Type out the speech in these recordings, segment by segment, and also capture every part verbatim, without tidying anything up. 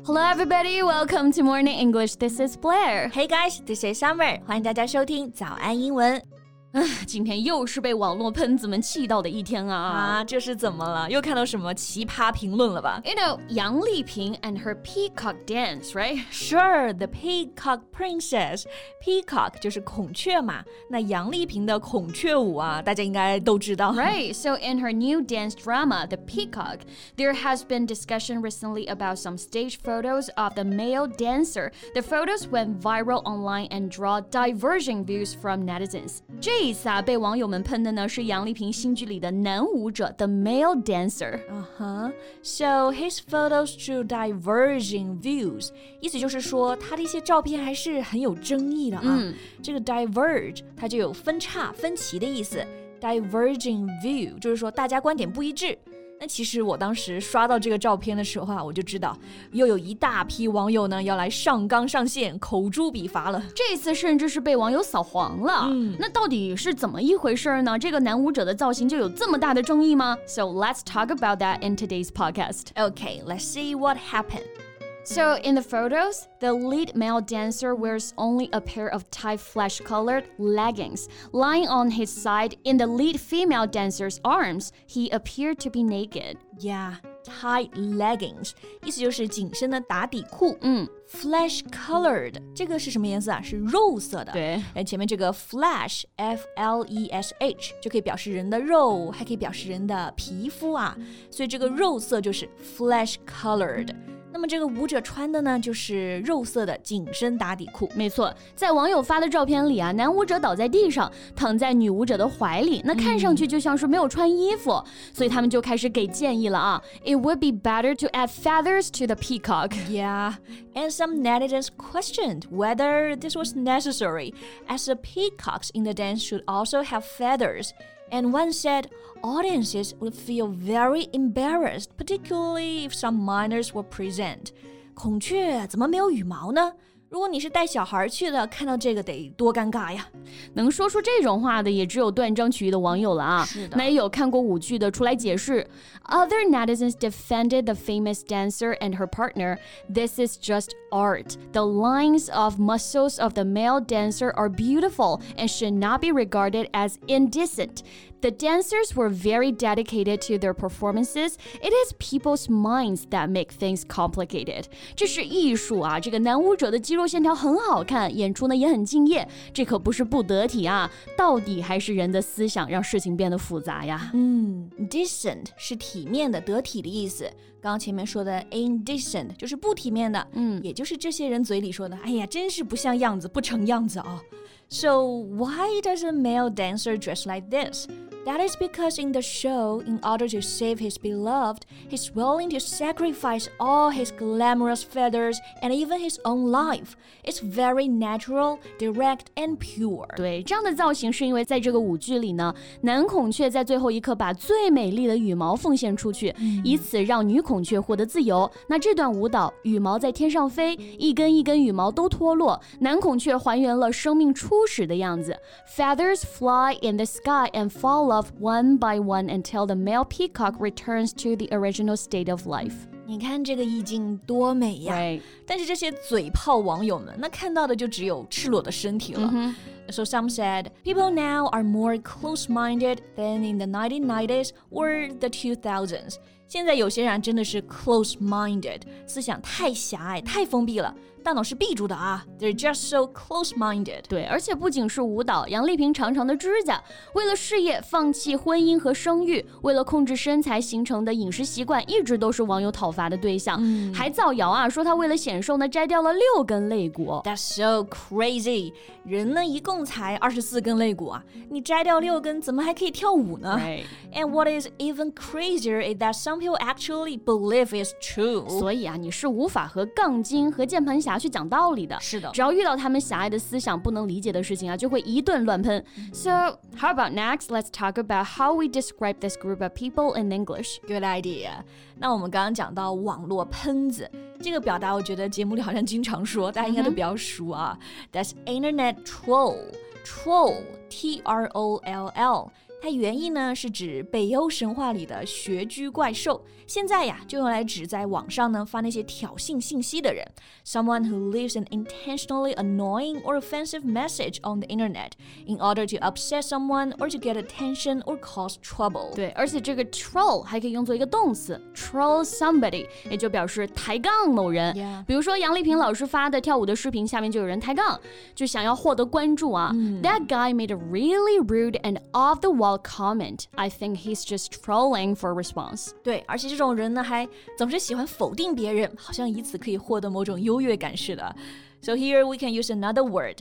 Hello everybody, welcome to Morning English. This is Blair. Hey guys, this is Summer. 欢迎大家收听早安英文。 今天又是被网络喷子们气到的一天啊！ 啊，这是怎么了？又看到什么奇葩评论了吧？ You know, 杨丽萍 and her peacock dance, right? Sure, the peacock princess. Peacock 就是孔雀嘛。那杨丽萍的孔雀舞啊，大家应该都知道。 Right, so in her new dance drama, The Peacock, there has been discussion recently about some stage photos of the male dancer. The photos went viral online and draw diverging views from netizens. 这一次啊，被网友们喷的呢是杨丽萍新剧里的男舞者 The Male Dancer. Uh-huh. So his photos drew diverging views. 意思就是说他的一些照片还是很有争议的啊。嗯、这个 diverge 它就有分叉、分歧的意思。Diverging view 就是说大家观点不一致。那其实我当时刷到这个照片的时候啊，我就知道又有一大批网友呢要来上纲上线口诛笔伐了。 这次甚至是被网友扫黄了。嗯，那到底是怎么一回事呢？这个男舞者的造型就有这么大的争议吗？ So let's talk about that in today's podcast. Okay, let's see what happened. So in the photos, the lead male dancer wears only a pair of tight flesh-colored leggings. Lying on his side in the lead female dancer's arms, he appeared to be naked. Yeah, tight leggings. 意思就是紧身的打底裤。嗯 Flesh-colored 这个是什么颜色啊？是肉色的。 对， 前面这个 flesh, F L E S H 就可以表示人的肉，还可以表示人的皮肤啊。所以这个肉色就是 flesh-colored。那么这个舞者穿的呢，就是肉色的紧身打底裤。 没错，在网友发的照片里啊，男舞者倒在地上，躺在女舞者的怀里，那看上去就像是没有穿衣服，嗯、所以他们就开始给建议了啊。It would be better to add feathers to the peacock. Yeah, and some netizens questioned whether this was necessary, as the peacocks in the dance should also have feathers.And one said audiences would feel very embarrassed, particularly if some minors were present. 孔雀怎么没有羽毛呢？如果你是带小孩去的，看到这个得多尴尬呀！ 能说出这种话的也只有断章取义的网友了啊。 是的， 那也有看过舞剧的出来解释。Other netizens defended the famous dancer and her partner. This is just art. The lines of muscles of the male dancer are beautiful and should not be regarded as indecent. The dancers were very dedicated to their performances. It is people's minds that make things complicated. 这是艺术啊，这个男舞者的肌肉线条很好看，演出呢也很敬业，这可不是不得体啊，到底还是人的思想让事情变得复杂呀。 嗯 decent 是体面的、得体的意思。刚刚前面说的 indecent 就是不体面的，嗯，也就是这些人嘴里说的，哎呀，真是不像样子，不成样子啊。So why does a male dancer dress like this?That is because in the show, in order to save his beloved, he's willing to sacrifice all his glamorous feathers and even his own life. It's very natural, direct, and pure. 对，这样的造型是因为在这个舞剧里呢，男孔雀在最后一刻把最美丽的羽毛奉献出去，嗯、以此让女孔雀获得自由。那这段舞蹈，羽毛在天上飞，一根一根羽毛都脱落，男孔雀还原了生命初始的样子。Feathers fly in the sky and fall off one by one until the male peacock returns to the original state of life. 你看这个意境多美呀！ Right. 但是这些嘴炮网友们，那看到的就只有赤裸的身体了。Mm-hmm. So some said, people now are more close-minded than in the nineteen nineties or the two thousands. 现在有些人真的是 close-minded， 思想太狭隘、太封闭了，大脑是闭住的啊。They're just so close-minded. 对，而且不仅是舞蹈，杨丽萍长长的指甲，为了事业放弃婚姻和生育，为了控制身材形成的饮食习惯，一直都是网友讨伐的对象。嗯、还造谣啊，说她为了显瘦呢，摘掉了六根肋骨。 That's so crazy. 人呢一共才二十四根肋骨啊，你摘掉六根，怎么还可以跳舞呢？ Right. And what is even crazier is that some people actually believe it's true. 所以啊，你是无法和杠精和键盘侠去讲道理的。 是的， 只要遇到他们狭隘的思想、不能理解的事情啊，就会一顿乱喷。So how about next? Let's talk about how we describe this group of people in English. Good idea. 那我们刚刚讲到网络喷子这个表达，我觉得节目里好像经常说，大家应该都比较熟啊。That's internet troll. Troll, T R O L L. 它原意呢是指北欧神话里的穴居怪兽，现在呀就用来指在网上呢发那些挑衅信息的人。Someone who leaves an intentionally annoying or offensive message on the internet in order to upset someone or to get attention or cause trouble. 对，而且这个 troll 还可以用作一个动词 troll somebody， 也就表示抬杠某人。 Yeah. 比如说杨丽萍老师发的跳舞的视频下面就有人抬杠，就想要获得关注啊。嗯、That guy made a really rude and off-the-wall comment. I think he's just trolling for a response. 对，而且这种人呢还总是喜欢否定别人，好像以此可以获得某种优越感似的。So here we can use another word,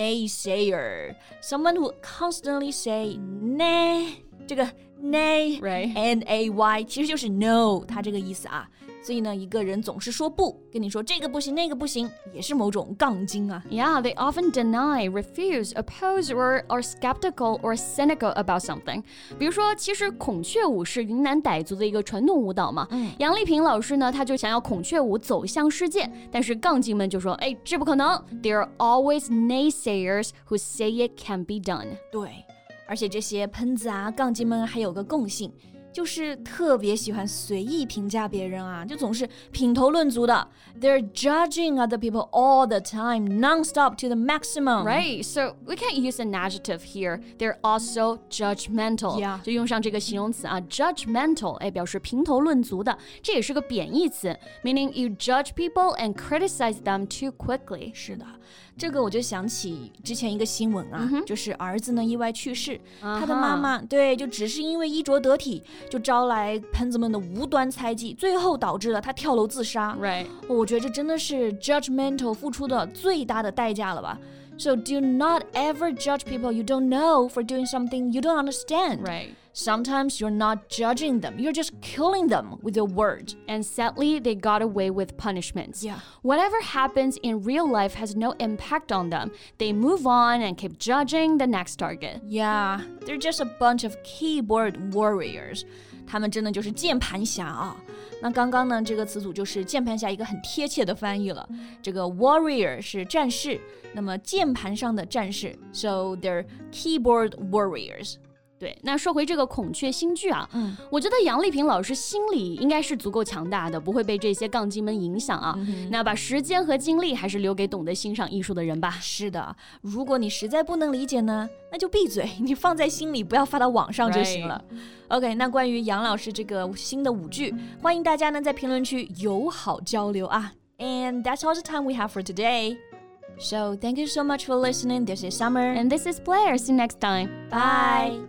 naysayer. Someone who constantly say nay. 这个 nay, right. N A Y 其实就是 no 它这个意思啊。所以呢，一个人总是说不，跟你说这个不行那个不行，也是某种杠精啊。 Yeah, they often deny, refuse, oppose, or are skeptical or cynical about something. 比如说，其实孔雀舞是云南傣族的一个传统舞蹈嘛。嗯、杨丽萍老师呢，他就想要孔雀舞走向世界，但是杠精们就说，哎，这不可能。There are always naysayers who say it can be done. 对，而且这些喷子啊、杠精们还有个共性。就是特别喜欢随意评价别人啊，就总是品头论足的。They're judging other people all the time, non-stop to the maximum. Right, so we can't use an adjective here. They're also judgmental. Yeah. 就用上这个形容词啊 ，judgmental， 哎，表示评头论足的，这也是个贬义词 ，meaning you judge people and criticize them too quickly. 是的。这个我就想起之前一个新闻啊， mm-hmm. 就是儿子呢意外去世， uh-huh. 他的妈妈对就只是因为衣着得体，就招来喷子们的无端猜忌，最后导致了他跳楼自杀。 Right. 我觉得这真的是 judgmental 付出的最大的代价了吧。So do not ever judge people you don't know for doing something you don't understand. Right. Sometimes you're not judging them. You're just killing them with your word. And sadly, they got away with punishments. Yeah. Whatever happens in real life has no impact on them. They move on and keep judging the next target. Yeah, they're just a bunch of keyboard warriors. 他们真的就是键盘侠啊。那刚刚呢，这个词组就是键盘侠一个很贴切的翻译了。这个 warrior 是战士，那么键盘上的战士 ，so they're keyboard warriors。 对，那说回这个孔雀新剧啊， 嗯， 我觉得杨丽萍老师心理应该是足够强大的，不会被这些杠精们影响啊。嗯、那把时间和精力还是留给懂得欣赏艺术的人吧。 是的，如果你实在不能理解呢，那就闭嘴，你放在心里，不要发到网上就行了。Right. OK， 那关于杨老师这个新的舞剧，欢迎大家呢在评论区友好交流啊。And that's all the time we have for today.So, thank you so much for listening. This is Summer. And this is Blair. See you next time. Bye.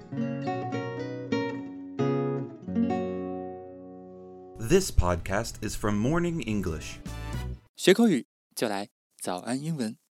This podcast is from Morning English. 学口语就来早安英文。